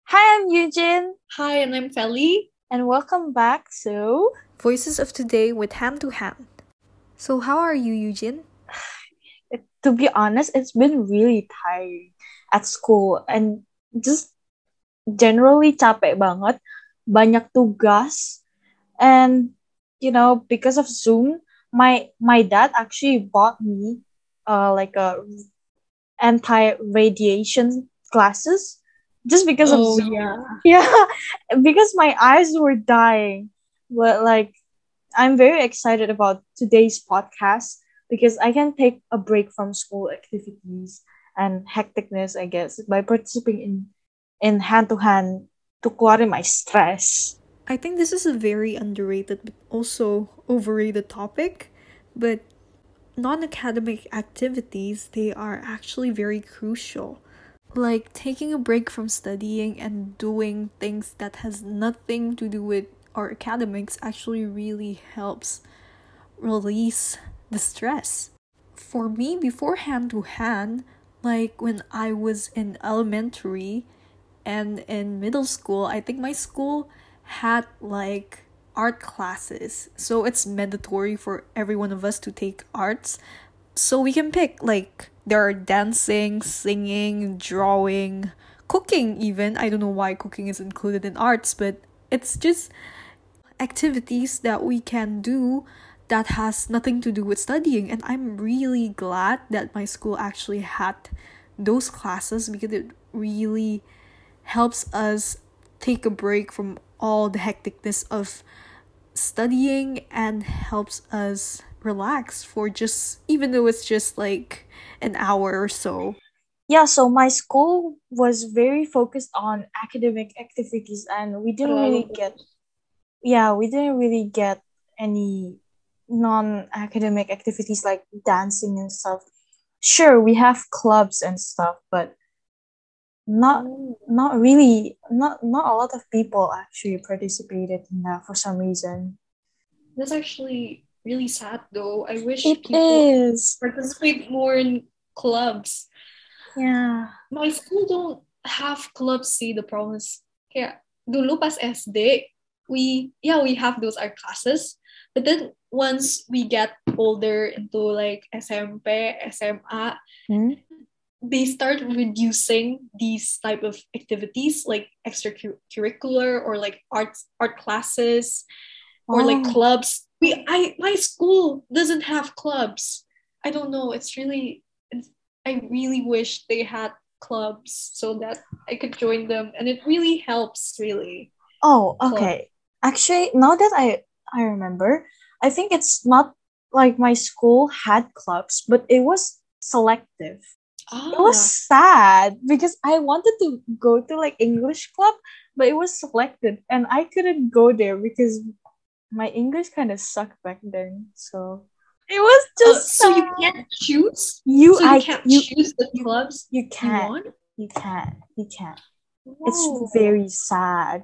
Hi, I'm Eugene, Hi, and I'm Feli. and welcome back to Voices of Today with Hand to Hand. So, how are you, Eugene? To be honest, it's been really tiring at school and just generally capek banget, banyak tugas, and because of Zoom, my dad actually bought me like a anti-radiation glasses just because of Oh, Zoom. yeah. Yeah, because my eyes were dying. But like I'm very excited about today's podcast because I can take a break from school activities and hecticness, I guess, by participating in hand to hand to clear my stress. I think this is a very underrated but also overrated topic, but non academic activities, they are actually very crucial. Like taking a break from studying and doing things that has nothing to do with our academics actually really helps release the stress. For me, before hand to hand, like when I was in elementary and in middle school, I think my school had like art classes. So it's mandatory for every one of us to take arts. So we can pick like there are dancing, singing, drawing, cooking even. I don't know why cooking is included in arts, but it's just activities that we can do that has nothing to do with studying. And I'm really glad that my school actually had those classes because it really helps us take a break from all the hecticness of studying and helps us relax for just even though it's just like an hour or so. Yeah, so my school was very focused on academic activities and Terlalu fokus. we didn't really get any non-academic activities like dancing and stuff. Sure, we have clubs and stuff, but not Oh, not really not a lot of people actually participated in that for some reason. that's actually really sad though. I wish It people is. participate more in clubs. Yeah. My school don't have clubs, see, the problem is kayak dulu pas SD, we have those art classes, but then once we get older into like SMP, SMA, Hmm? they start reducing these type of activities like extracurricular or like art classes or like Oh. clubs. My school doesn't have clubs. I don't know. I really wish they had clubs so that I could join them, and it really helps. Really, Oh, club. okay. Actually, now that I remember, I think it's not like my school had clubs, but it was selective. It was Ah, sad because I wanted to go to like English club, but it was selected and I couldn't go there because my English kind of sucked back then. So it was just so you sad. can't choose. You So you I can't you choose the you clubs you you can't. want. You can't. It's Whoa. very sad.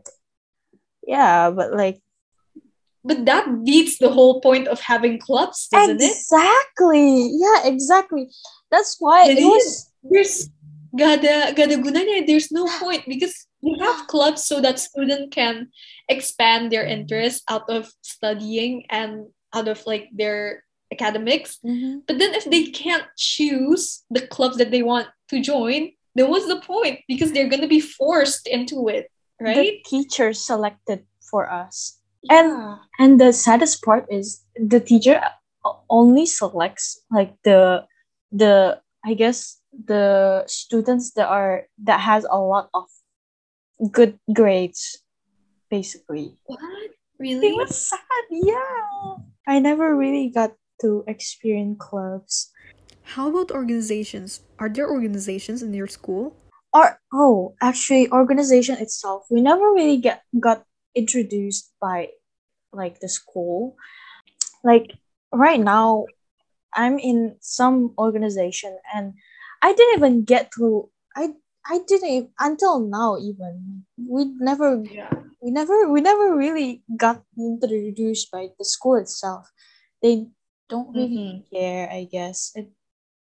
Yeah, but like But that beats the whole point of having clubs, doesn't it? exactly. Yeah, exactly. That's why it Jadi was there's gak ada gunanya. There's no point because we have clubs so that student can expand their interest out of studying and out of like their academics. Mhm. But then if they can't choose the clubs that they want to join, then what's the point? Because they're gonna be forced into it, The right? teacher selected for us. And Yeah. and the saddest part is the teacher only selects like the I guess the students that has a lot of good grades basically. What? It was Really? sad, yeah. I never really got to experience clubs. How about organizations? Are there organizations in your school? Or actually organization itself. We never really got introduced by like the school. Like right now I'm in some organization and I didn't even get to I didn't until now even Yeah. we never really got introduced by the school itself. They don't really Mm-hmm. care, I guess. It's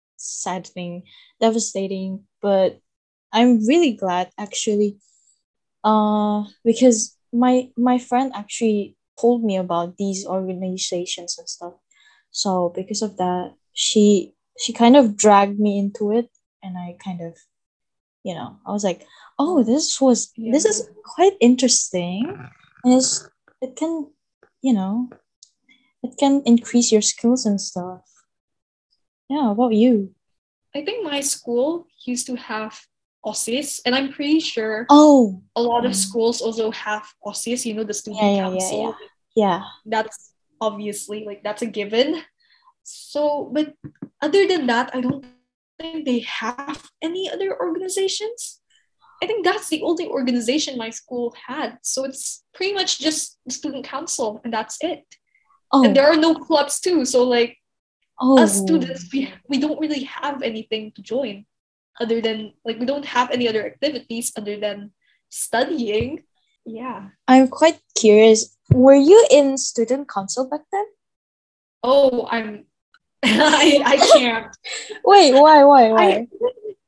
saddening, devastating, but I'm really glad actually Because my friend actually told me about these organizations and stuff. So because of that, she kind of dragged me into it, and I kind of, I was like, oh, Yeah. this is quite interesting, and it can, you know, it can increase your skills and stuff. Yeah, how about you? I think my school used to have OSIS, and I'm pretty sure Oh, a lot of schools also have OSIS, the yeah, student yeah, yeah, yeah, council. yeah. That's obviously like that's a given. So, but other than that, I don't think they have any other organizations. I think that's the only organization my school had. So it's pretty much just the student council, and that's it. And Oh, there are no clubs too. So like us oh, students, we don't really have anything to join other than like we don't have any other activities other than studying. Yeah. I'm quite curious. Were you in student council back then? Oh, I'm I can't. Wait, why, I why?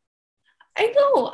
I know.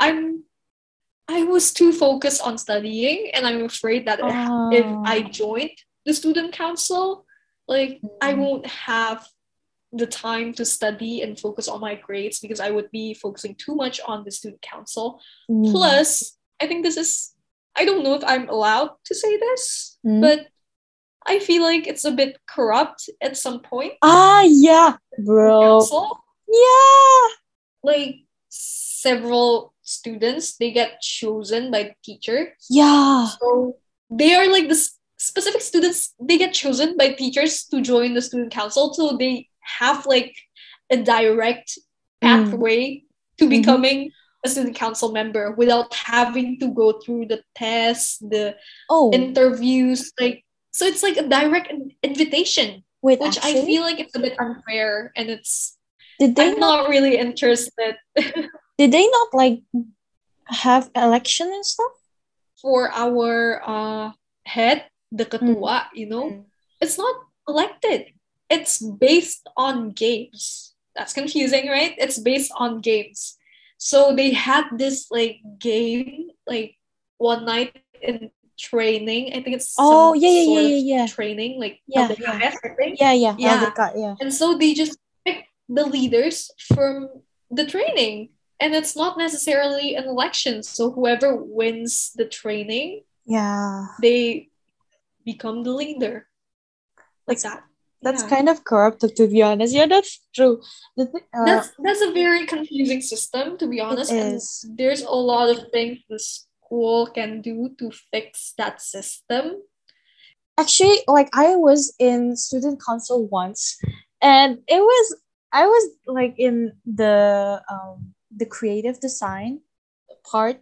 I was too focused on studying, and I'm afraid that if I Uh, joined the student council, like I mm, won't have the time to study and focus on my grades because I would be focusing too much on the student council. mm, Plus, I think this is, I don't know if I'm allowed to say this, mm. but I feel like it's a bit corrupt at some point. Yeah, Student bro. council, Yeah, like several students, they get chosen by the teacher. yeah. So they are like the specific students, they get chosen by teachers to join the student council. So they have like a direct Mm, pathway to mm-hmm. becoming a student council member without having to go through the tests, the Oh, interviews. Like, so it's like a direct invitation, wait, which I actually, feel like it's a bit unfair, and it's, did they I'm not not really interested. did they not like have election and stuff? For our head, the Mm, ketua, mm. it's not elected. It's based on games. That's confusing, right? It's based on games. So they had this like game, like one night in training. I think it's some Oh, yeah, yeah, sort yeah, of yeah, yeah. training, like Yeah, yeah. LDKS, I think. Yeah, yeah. Yeah. LDK, yeah. And so they just pick the leaders from the training, and it's not necessarily an election. So whoever wins the training, Yeah. they become the leader, like That's that. that's Yeah, kind of corrupt, to be honest. Yeah, that's true. that's a very confusing system, to be It honest, and is. there's a lot of things the school can do to fix that system. Actually, like I was in student council once, and I was like in the creative design part.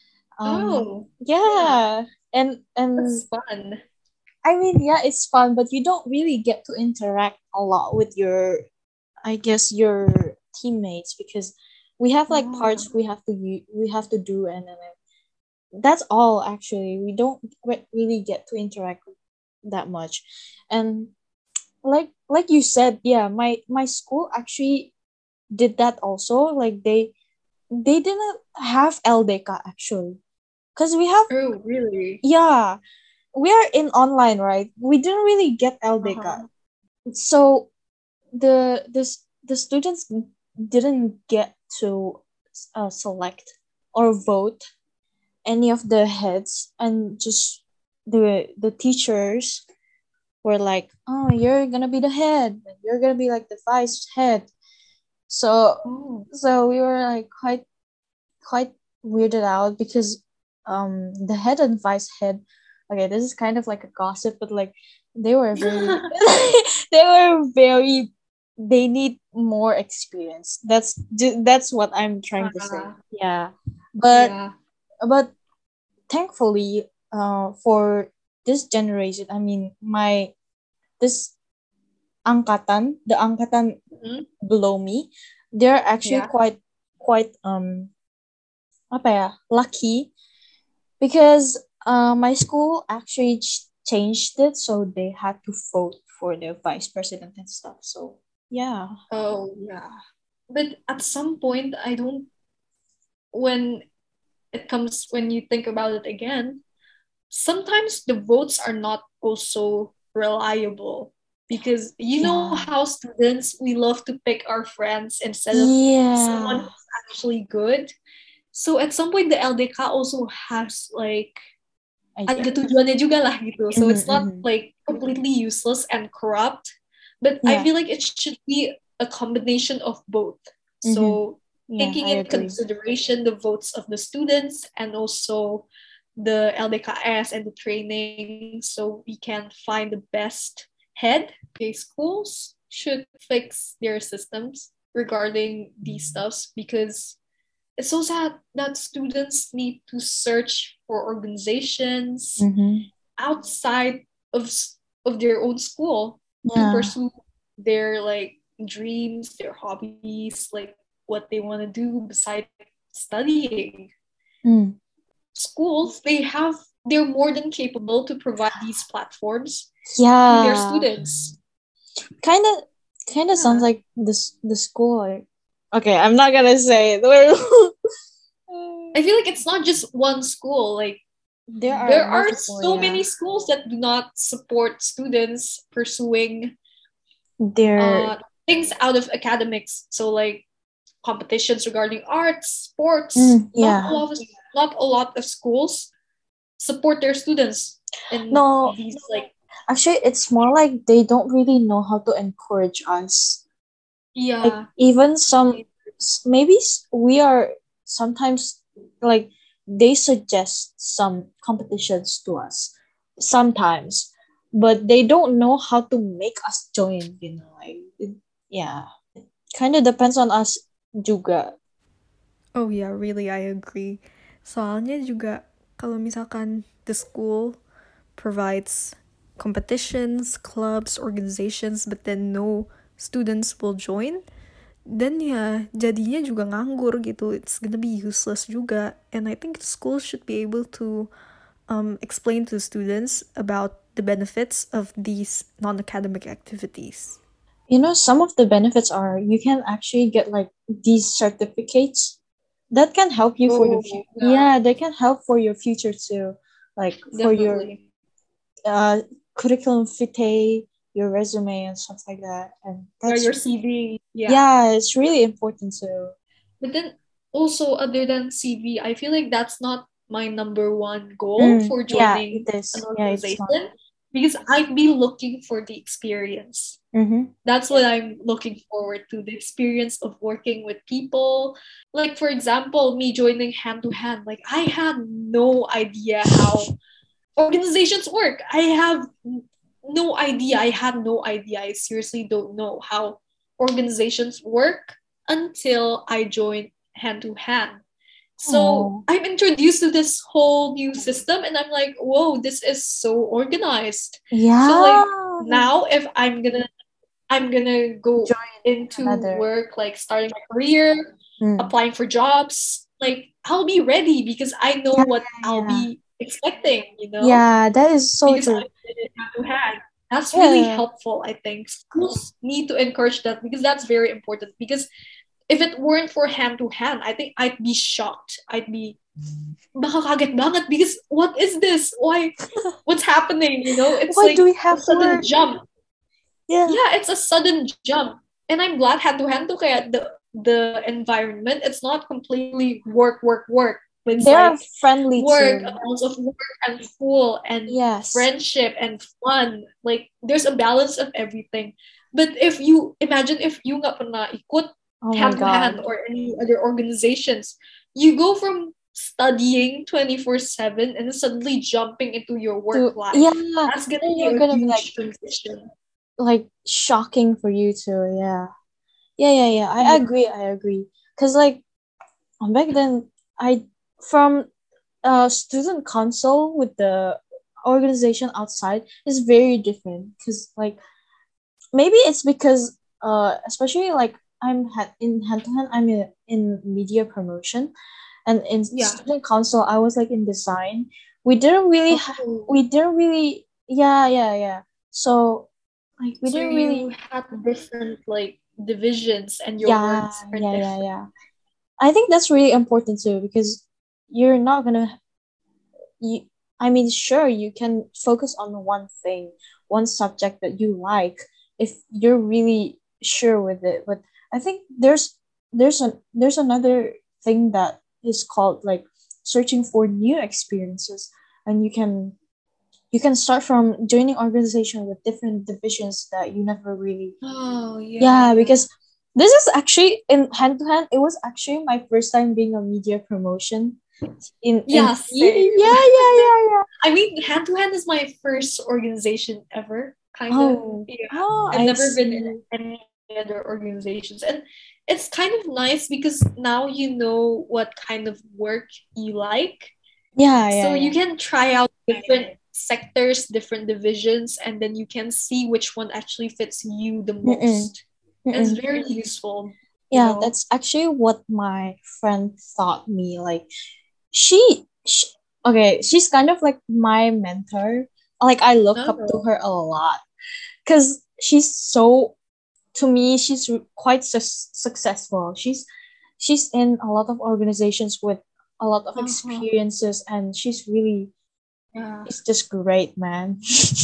Oh, yeah, Yeah, and that's fun. I mean, yeah, it's fun, but you don't really get to interact a lot with your, I guess, your teammates, because we have like Yeah. parts we have to do, and then that's all. Actually, we don't really get to interact that much. And like you said, yeah, my school actually did that also. Like they didn't have LDK actually, because we have, Oh, really? yeah, we are in online, right? We didn't really get LDK. Uh-huh. So the students didn't get to select or vote any of the heads, and just the teachers were like, oh, you're gonna be the head, and you're gonna be like the vice head. So Oh. we were like quite weirded out, because the head and vice head, okay, this is kind of like a gossip, but like they were very they were very, they need more experience. That's what I'm trying to say. Uh, Yeah. but yeah. but thankfully, for this generation, I mean, my this the angkatan Mhm. below me, they're actually Yeah. quite apa ya, lucky, because my school actually changed it, so they had to vote for the vice president and stuff. So yeah. Oh, yeah. But at some point, I don't, when it comes when you think about it again, sometimes the votes are not also reliable because you know Yeah. how students we love to pick our friends instead of someone Yeah. who's actually good. So at some point the LDK also has like I ada get. tujuannya juga lah gitu. So Mhm, it's not mhm. like completely useless and corrupt, but I Yeah. feel like it should be a combination of both. Mhm. So Yeah, taking I in agree. consideration the votes of the students and also the LDKS and the training so we can find the best head. Okay, schools should fix their systems regarding these stuffs because it's so sad that students need to search for organizations Mhm. outside of of their own school to Yeah. pursue their like dreams, their hobbies, like what they want to do besides studying. Mm. Schools, they're more than capable to provide these platforms to their Yeah. students. Kind of sounds Yeah. like this the school. Like, okay, I'm not gonna say it. I feel like it's not just one school. Like There are there are multiple, so yeah. many schools that do not support students pursuing There. things out of academics. So like competitions regarding arts, sports. Yeah. Not a lot of schools support their students in No, these like actually, it's more like they don't really know how to encourage us. Like yeah. even some, maybe we are sometimes like they suggest some competitions to us sometimes, but they don't know how to make us join. Yeah, kind of depends on us juga. Oh yeah, really, I agree. Soalnya juga kalau misalkan the school provides competitions, clubs, organizations, but then no students will join, then ya jadinya juga nganggur gitu. It's gonna be useless juga. And I think schools should be able to explain to students about the benefits of these non-academic activities. Some of the benefits are you can actually get like these certificates that can help you for the future. Yeah, they can help for your future too, like for your curriculum vitae, your resume and stuff like that. And that's your CV. yeah, it's really important too. But then also other than CV, I feel like that's not my number one goal for Yeah, joining it is. an Yeah, it's organization not. because I'd be looking for the experience. Mm-hmm. That's what I'm looking forward to, the experience of working with people. Like for example, me joining hand to hand, like I had no idea how organizations work. I have no idea. I had no idea. I seriously don't know how organizations work until I joined hand to hand. So Oh. I'm introduced to this whole new system and I'm like, whoa, this is so organized. Yeah. So like now if I'm gonna go into another. work, like starting my career, applying for jobs, like I'll be ready because I know what I'll be expecting, Yeah, that is so because true. I did it hand to hand. That's really helpful, I think. Schools need to encourage that because that's very important. Because if it weren't for hand to hand, I think I'd be shocked. I'd be baka kaget banget because what is this? Why? What's happening? It's Why like do we have a sudden work? jump. Yeah. Yeah, it's a sudden jump. And I'm glad hand to hand to kaya the environment, it's not completely work, work, work. It's They're like friendly work, too. amounts of work and school and friendship and fun. Like there's a balance of everything. But if you imagine if you nggak pernah ikut hand to hand or any other organizations, you go from studying 24/7 and suddenly jumping into your work life. Yeah, that's gonna be a huge transition. Like shocking for you too. Yeah. I agree. Because like back then, from student council with the organization outside is very different. Because like maybe it's because especially like in hand to hand, I'm in media promotion, and in student council I was like in design. We didn't really so like we didn't really have different like divisions and your works are different. I think that's really important too because you're not gonna you I mean, sure, you can focus on one thing, one subject that you like if you're really sure with it. But I think there's another thing that is called like searching for new experiences, and you can start from joining organization with different divisions that you never really. Oh, yeah. Yeah, because this is actually in hand to hand. It was actually my first time being a media promotion. Yeah, same. Yeah. I mean, Hand to Hand is my first organization ever, kind of. Oh, Yeah. oh, I've I never been in see. any other organizations. And it's kind of nice because now you know what kind of work you like. Yeah, So yeah, you yeah. can try out different sectors, different divisions, and then you can see which one actually fits you the Mm-mm, most. And it's mm-mm. very useful, Yeah, that's actually what my friend taught me. Like, she okay, she's kind of like my mentor. Like, I look up to Oh. her a lot because she's so, to me, she's quite successful. She's in a lot of organizations with a lot of Uh-huh. experiences, and Yeah. she's just great, man.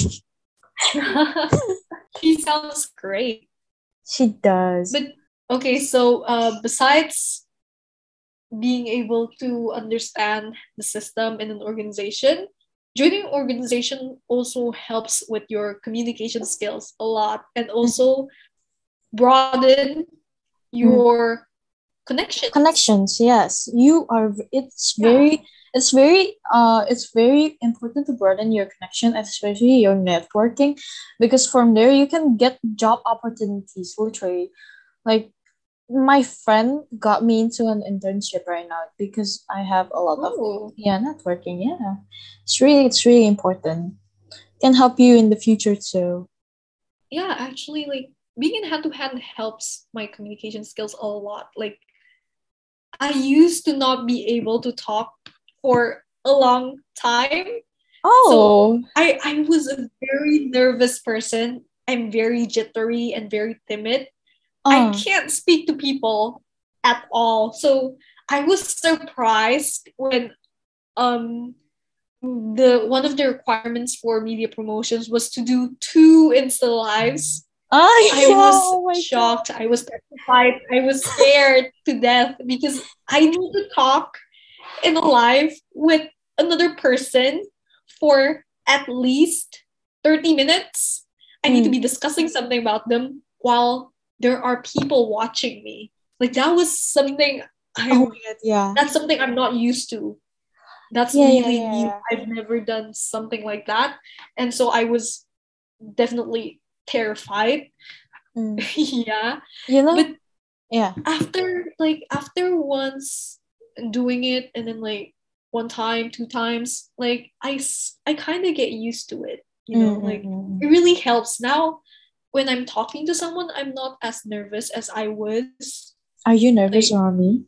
She sounds great. She does. But okay, so besides being able to understand the system in an organization, joining organization also helps with your communication skills a lot and also broaden Mm. your connections. Connections, yes, you are Yeah. it's very important to broaden your connection, especially your networking, because from there you can get job opportunities, literally. Like, my friend got me into an internship right now because I have a lot of, Oh, yeah, networking. Yeah, it's really important, can help you in the future too. yeah, actually, like being in hand to hand helps my communication skills a lot. Like, I used to not be able to talk for a long time. So Oh. I was a very nervous person. I'm very jittery and very timid. I uh can't speak to people at all. So I was surprised when the one of the requirements for media promotions was to do 2 Insta lives. I yeah, was oh my god. shocked. I was petrified. I was scared to death because I need to talk in a live with another person for at least 30 minutes. I need to Mm. be discussing something about them while there are people watching me. Like that was something Oh I my god, yeah. that's something I'm not used to. That's Yeah, yeah, really yeah, new. yeah. I've never done something like that. And so I was definitely terrified. Mm. Yeah. You But know? Yeah. after once doing it and then like one time, 2 times, like I kind of get used to it, like it Mm-mm. really helps now when I'm talking to someone. I'm not as nervous as I was Are you nervous like. around me?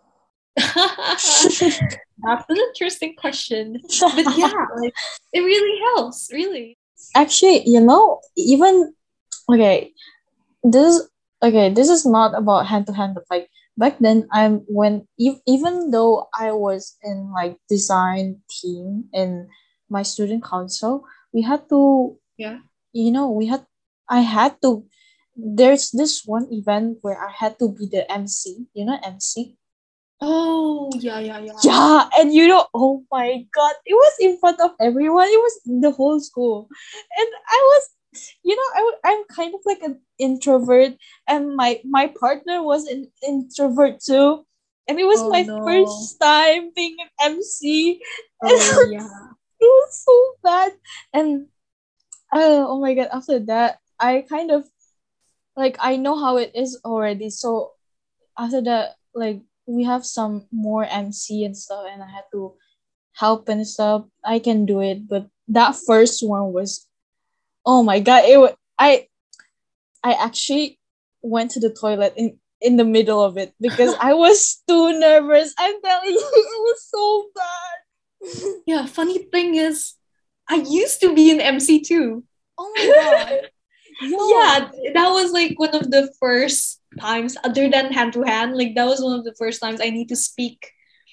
That's an interesting question. But yeah, like it really helps, really. Actually, even okay, this this is not about hand to hand, but like back then, even though I was in like design team in my student council, we had to, Yeah. we had I had to there's this one event where I had to be the MC, MC. Oh, yeah, yeah, yeah. Yeah, and oh my god, it was in front of everyone. It was in the whole school, and I was, I'm kind of like an introvert, and my partner was an introvert too, and it was Oh my no. first time being an MC, and Oh yeah. it was so bad. And oh my god, after that, I kind of like, I know how it is already. So after that, like, we have some more MC and stuff, and I had to help and stuff. I can do it, but that first one was, oh my god! I actually went to the toilet in the middle of it because I was too nervous. I'm telling you, it was so bad. Yeah, funny thing is, I used to be an MC too. Oh my god! Yo. Yeah, that was like one of the first times, other than hand to hand, like that was one of the first times I need to speak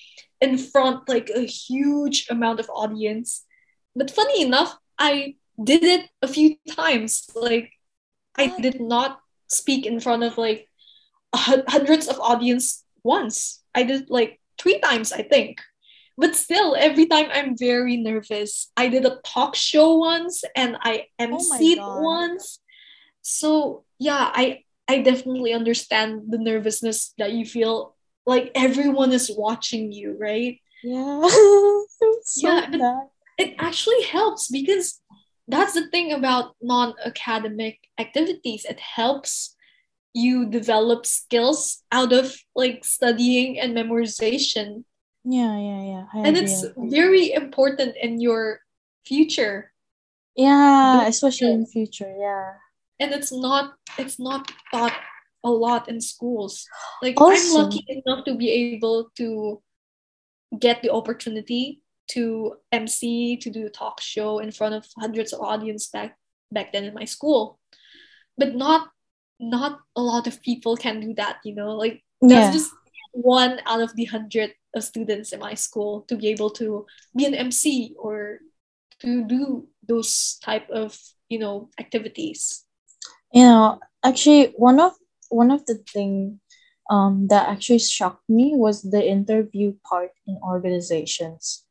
in front like a huge amount of audience. But funny enough, I did it a few times. Like I What? did not speak in front of like hundreds of audience once. I did like 3 times, I think. But still, every time I'm very nervous. I did a talk show once and I Oh my emceed god. once. So yeah, I definitely understand the nervousness that you feel like everyone is watching you, right? Yeah. It's so Yeah, but bad. it actually helps because that's the thing about non-academic activities. It helps you develop skills out of like studying and memorization. Yeah. I And agree. it's very important in your future. Yeah, Those especially in skills. future. Yeah. And it's not taught a lot in schools. Like I'm Also, lucky enough to be able to get the opportunity to MC, to do a talk show in front of hundreds of audience back then in my school. But not a lot of people can do that, you know? Like that's yeah. just one out of the hundred of students in my school to be able to be an MC or to do those type of, activities. Actually, one of the thing that actually shocked me was the interview part in organizations.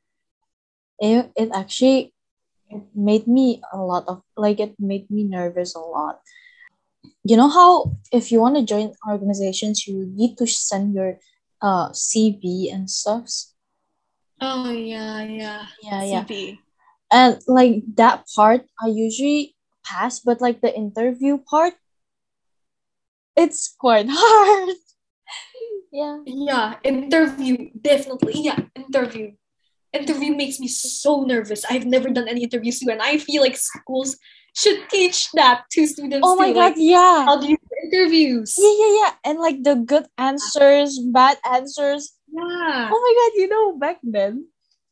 It actually it made me a lot of like it made me nervous a lot. You know how if you want to join organizations, you need to send your CV and stuffs. Oh yeah. Yeah. CP. And like that part, I usually pass, but like the interview part, it's quite hard. Yeah. Yeah, interview, definitely. Yeah, interview. Interview makes me so nervous. I've never done any interviews too, and I feel like schools should teach that to students Oh my too. god, Like, yeah. how do you do interviews? Yeah. And like the good answers, bad answers. Yeah. Oh my god, back then,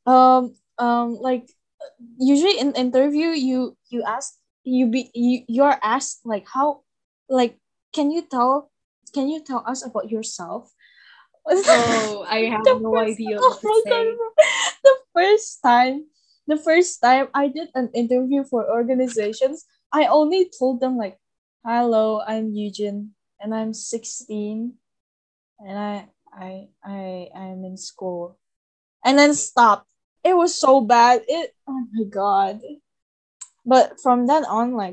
like usually in interview, you ask you're asked like how, like can you tell us about yourself? Oh, I have The no first idea oh what to my god, say. the first time I did an interview for organizations, I only told them like, hello, I'm Eugene and I'm 16 and I'm in school, and then stopped. It was so bad. Oh my god. But from then on, like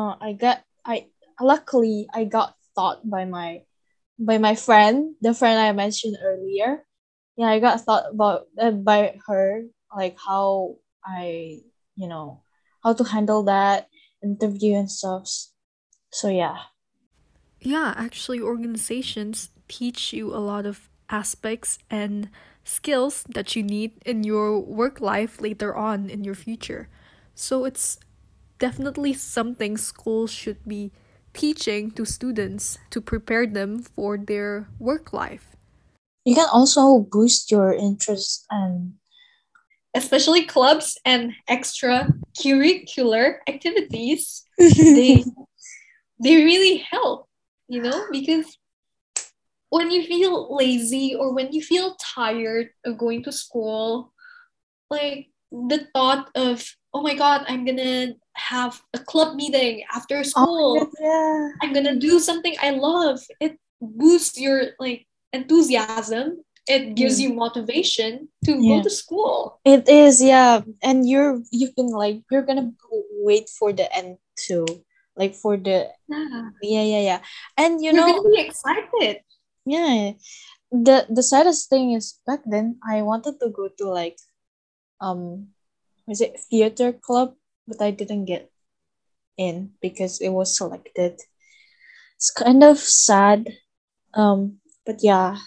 I luckily I got taught by my friend, the friend I mentioned earlier. Yeah, I got taught about by her, like how I you know how to handle that interview and stuff. So yeah. Yeah, actually, organizations teach you a lot of aspects and skills that you need in your work life later on in your future. So it's definitely something schools should be teaching to students to prepare them for their work life. You can also boost your interest and Especially clubs and extracurricular activities. They they really help, because when you feel lazy or when you feel tired of going to school, like the thought of, oh my god, I'm gonna have a club meeting after oh my god, school, yeah. I'm gonna do something I love, it boosts your like enthusiasm, it gives Mm. you motivation to go Yeah. to school. It is, yeah. And you've been like you're gonna wait for the end too. Like for the Yeah, yeah. And you're gonna be excited. yeah. The saddest thing is back then I wanted to go to like um was it theater club, but I didn't get in because it was selected. It's kind of sad. But yeah.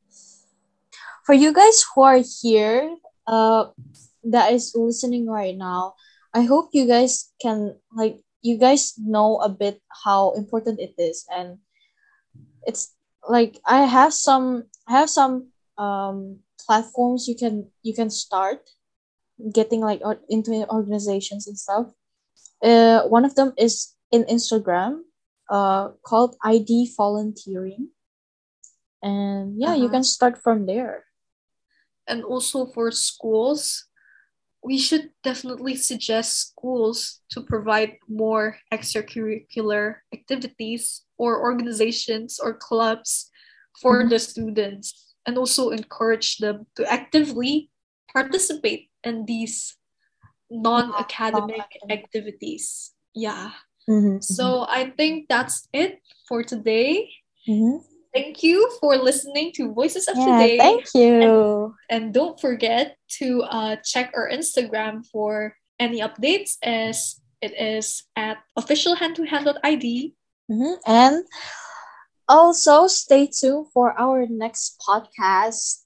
For you guys who are here, that is listening right now, I hope you guys can like you guys know a bit how important it is, and it's like I have some platforms you can start getting like into organizations and stuff. One of them is in Instagram, called ID volunteering, and yeah, you Uh-huh. can start from there. And also for schools, we should definitely suggest schools to provide more extracurricular activities or organizations or clubs for Mhm. the students, and also encourage them to actively participate in these non-academic Non-academic. activities. Yeah. Mhm, mhm, So I think that's it for today. mhm. Thank you for listening to Voices of Yeah, Today. thank you. And don't forget to check our Instagram for any updates, as it is at officialhandtohand.id. And also stay tuned for our next podcast.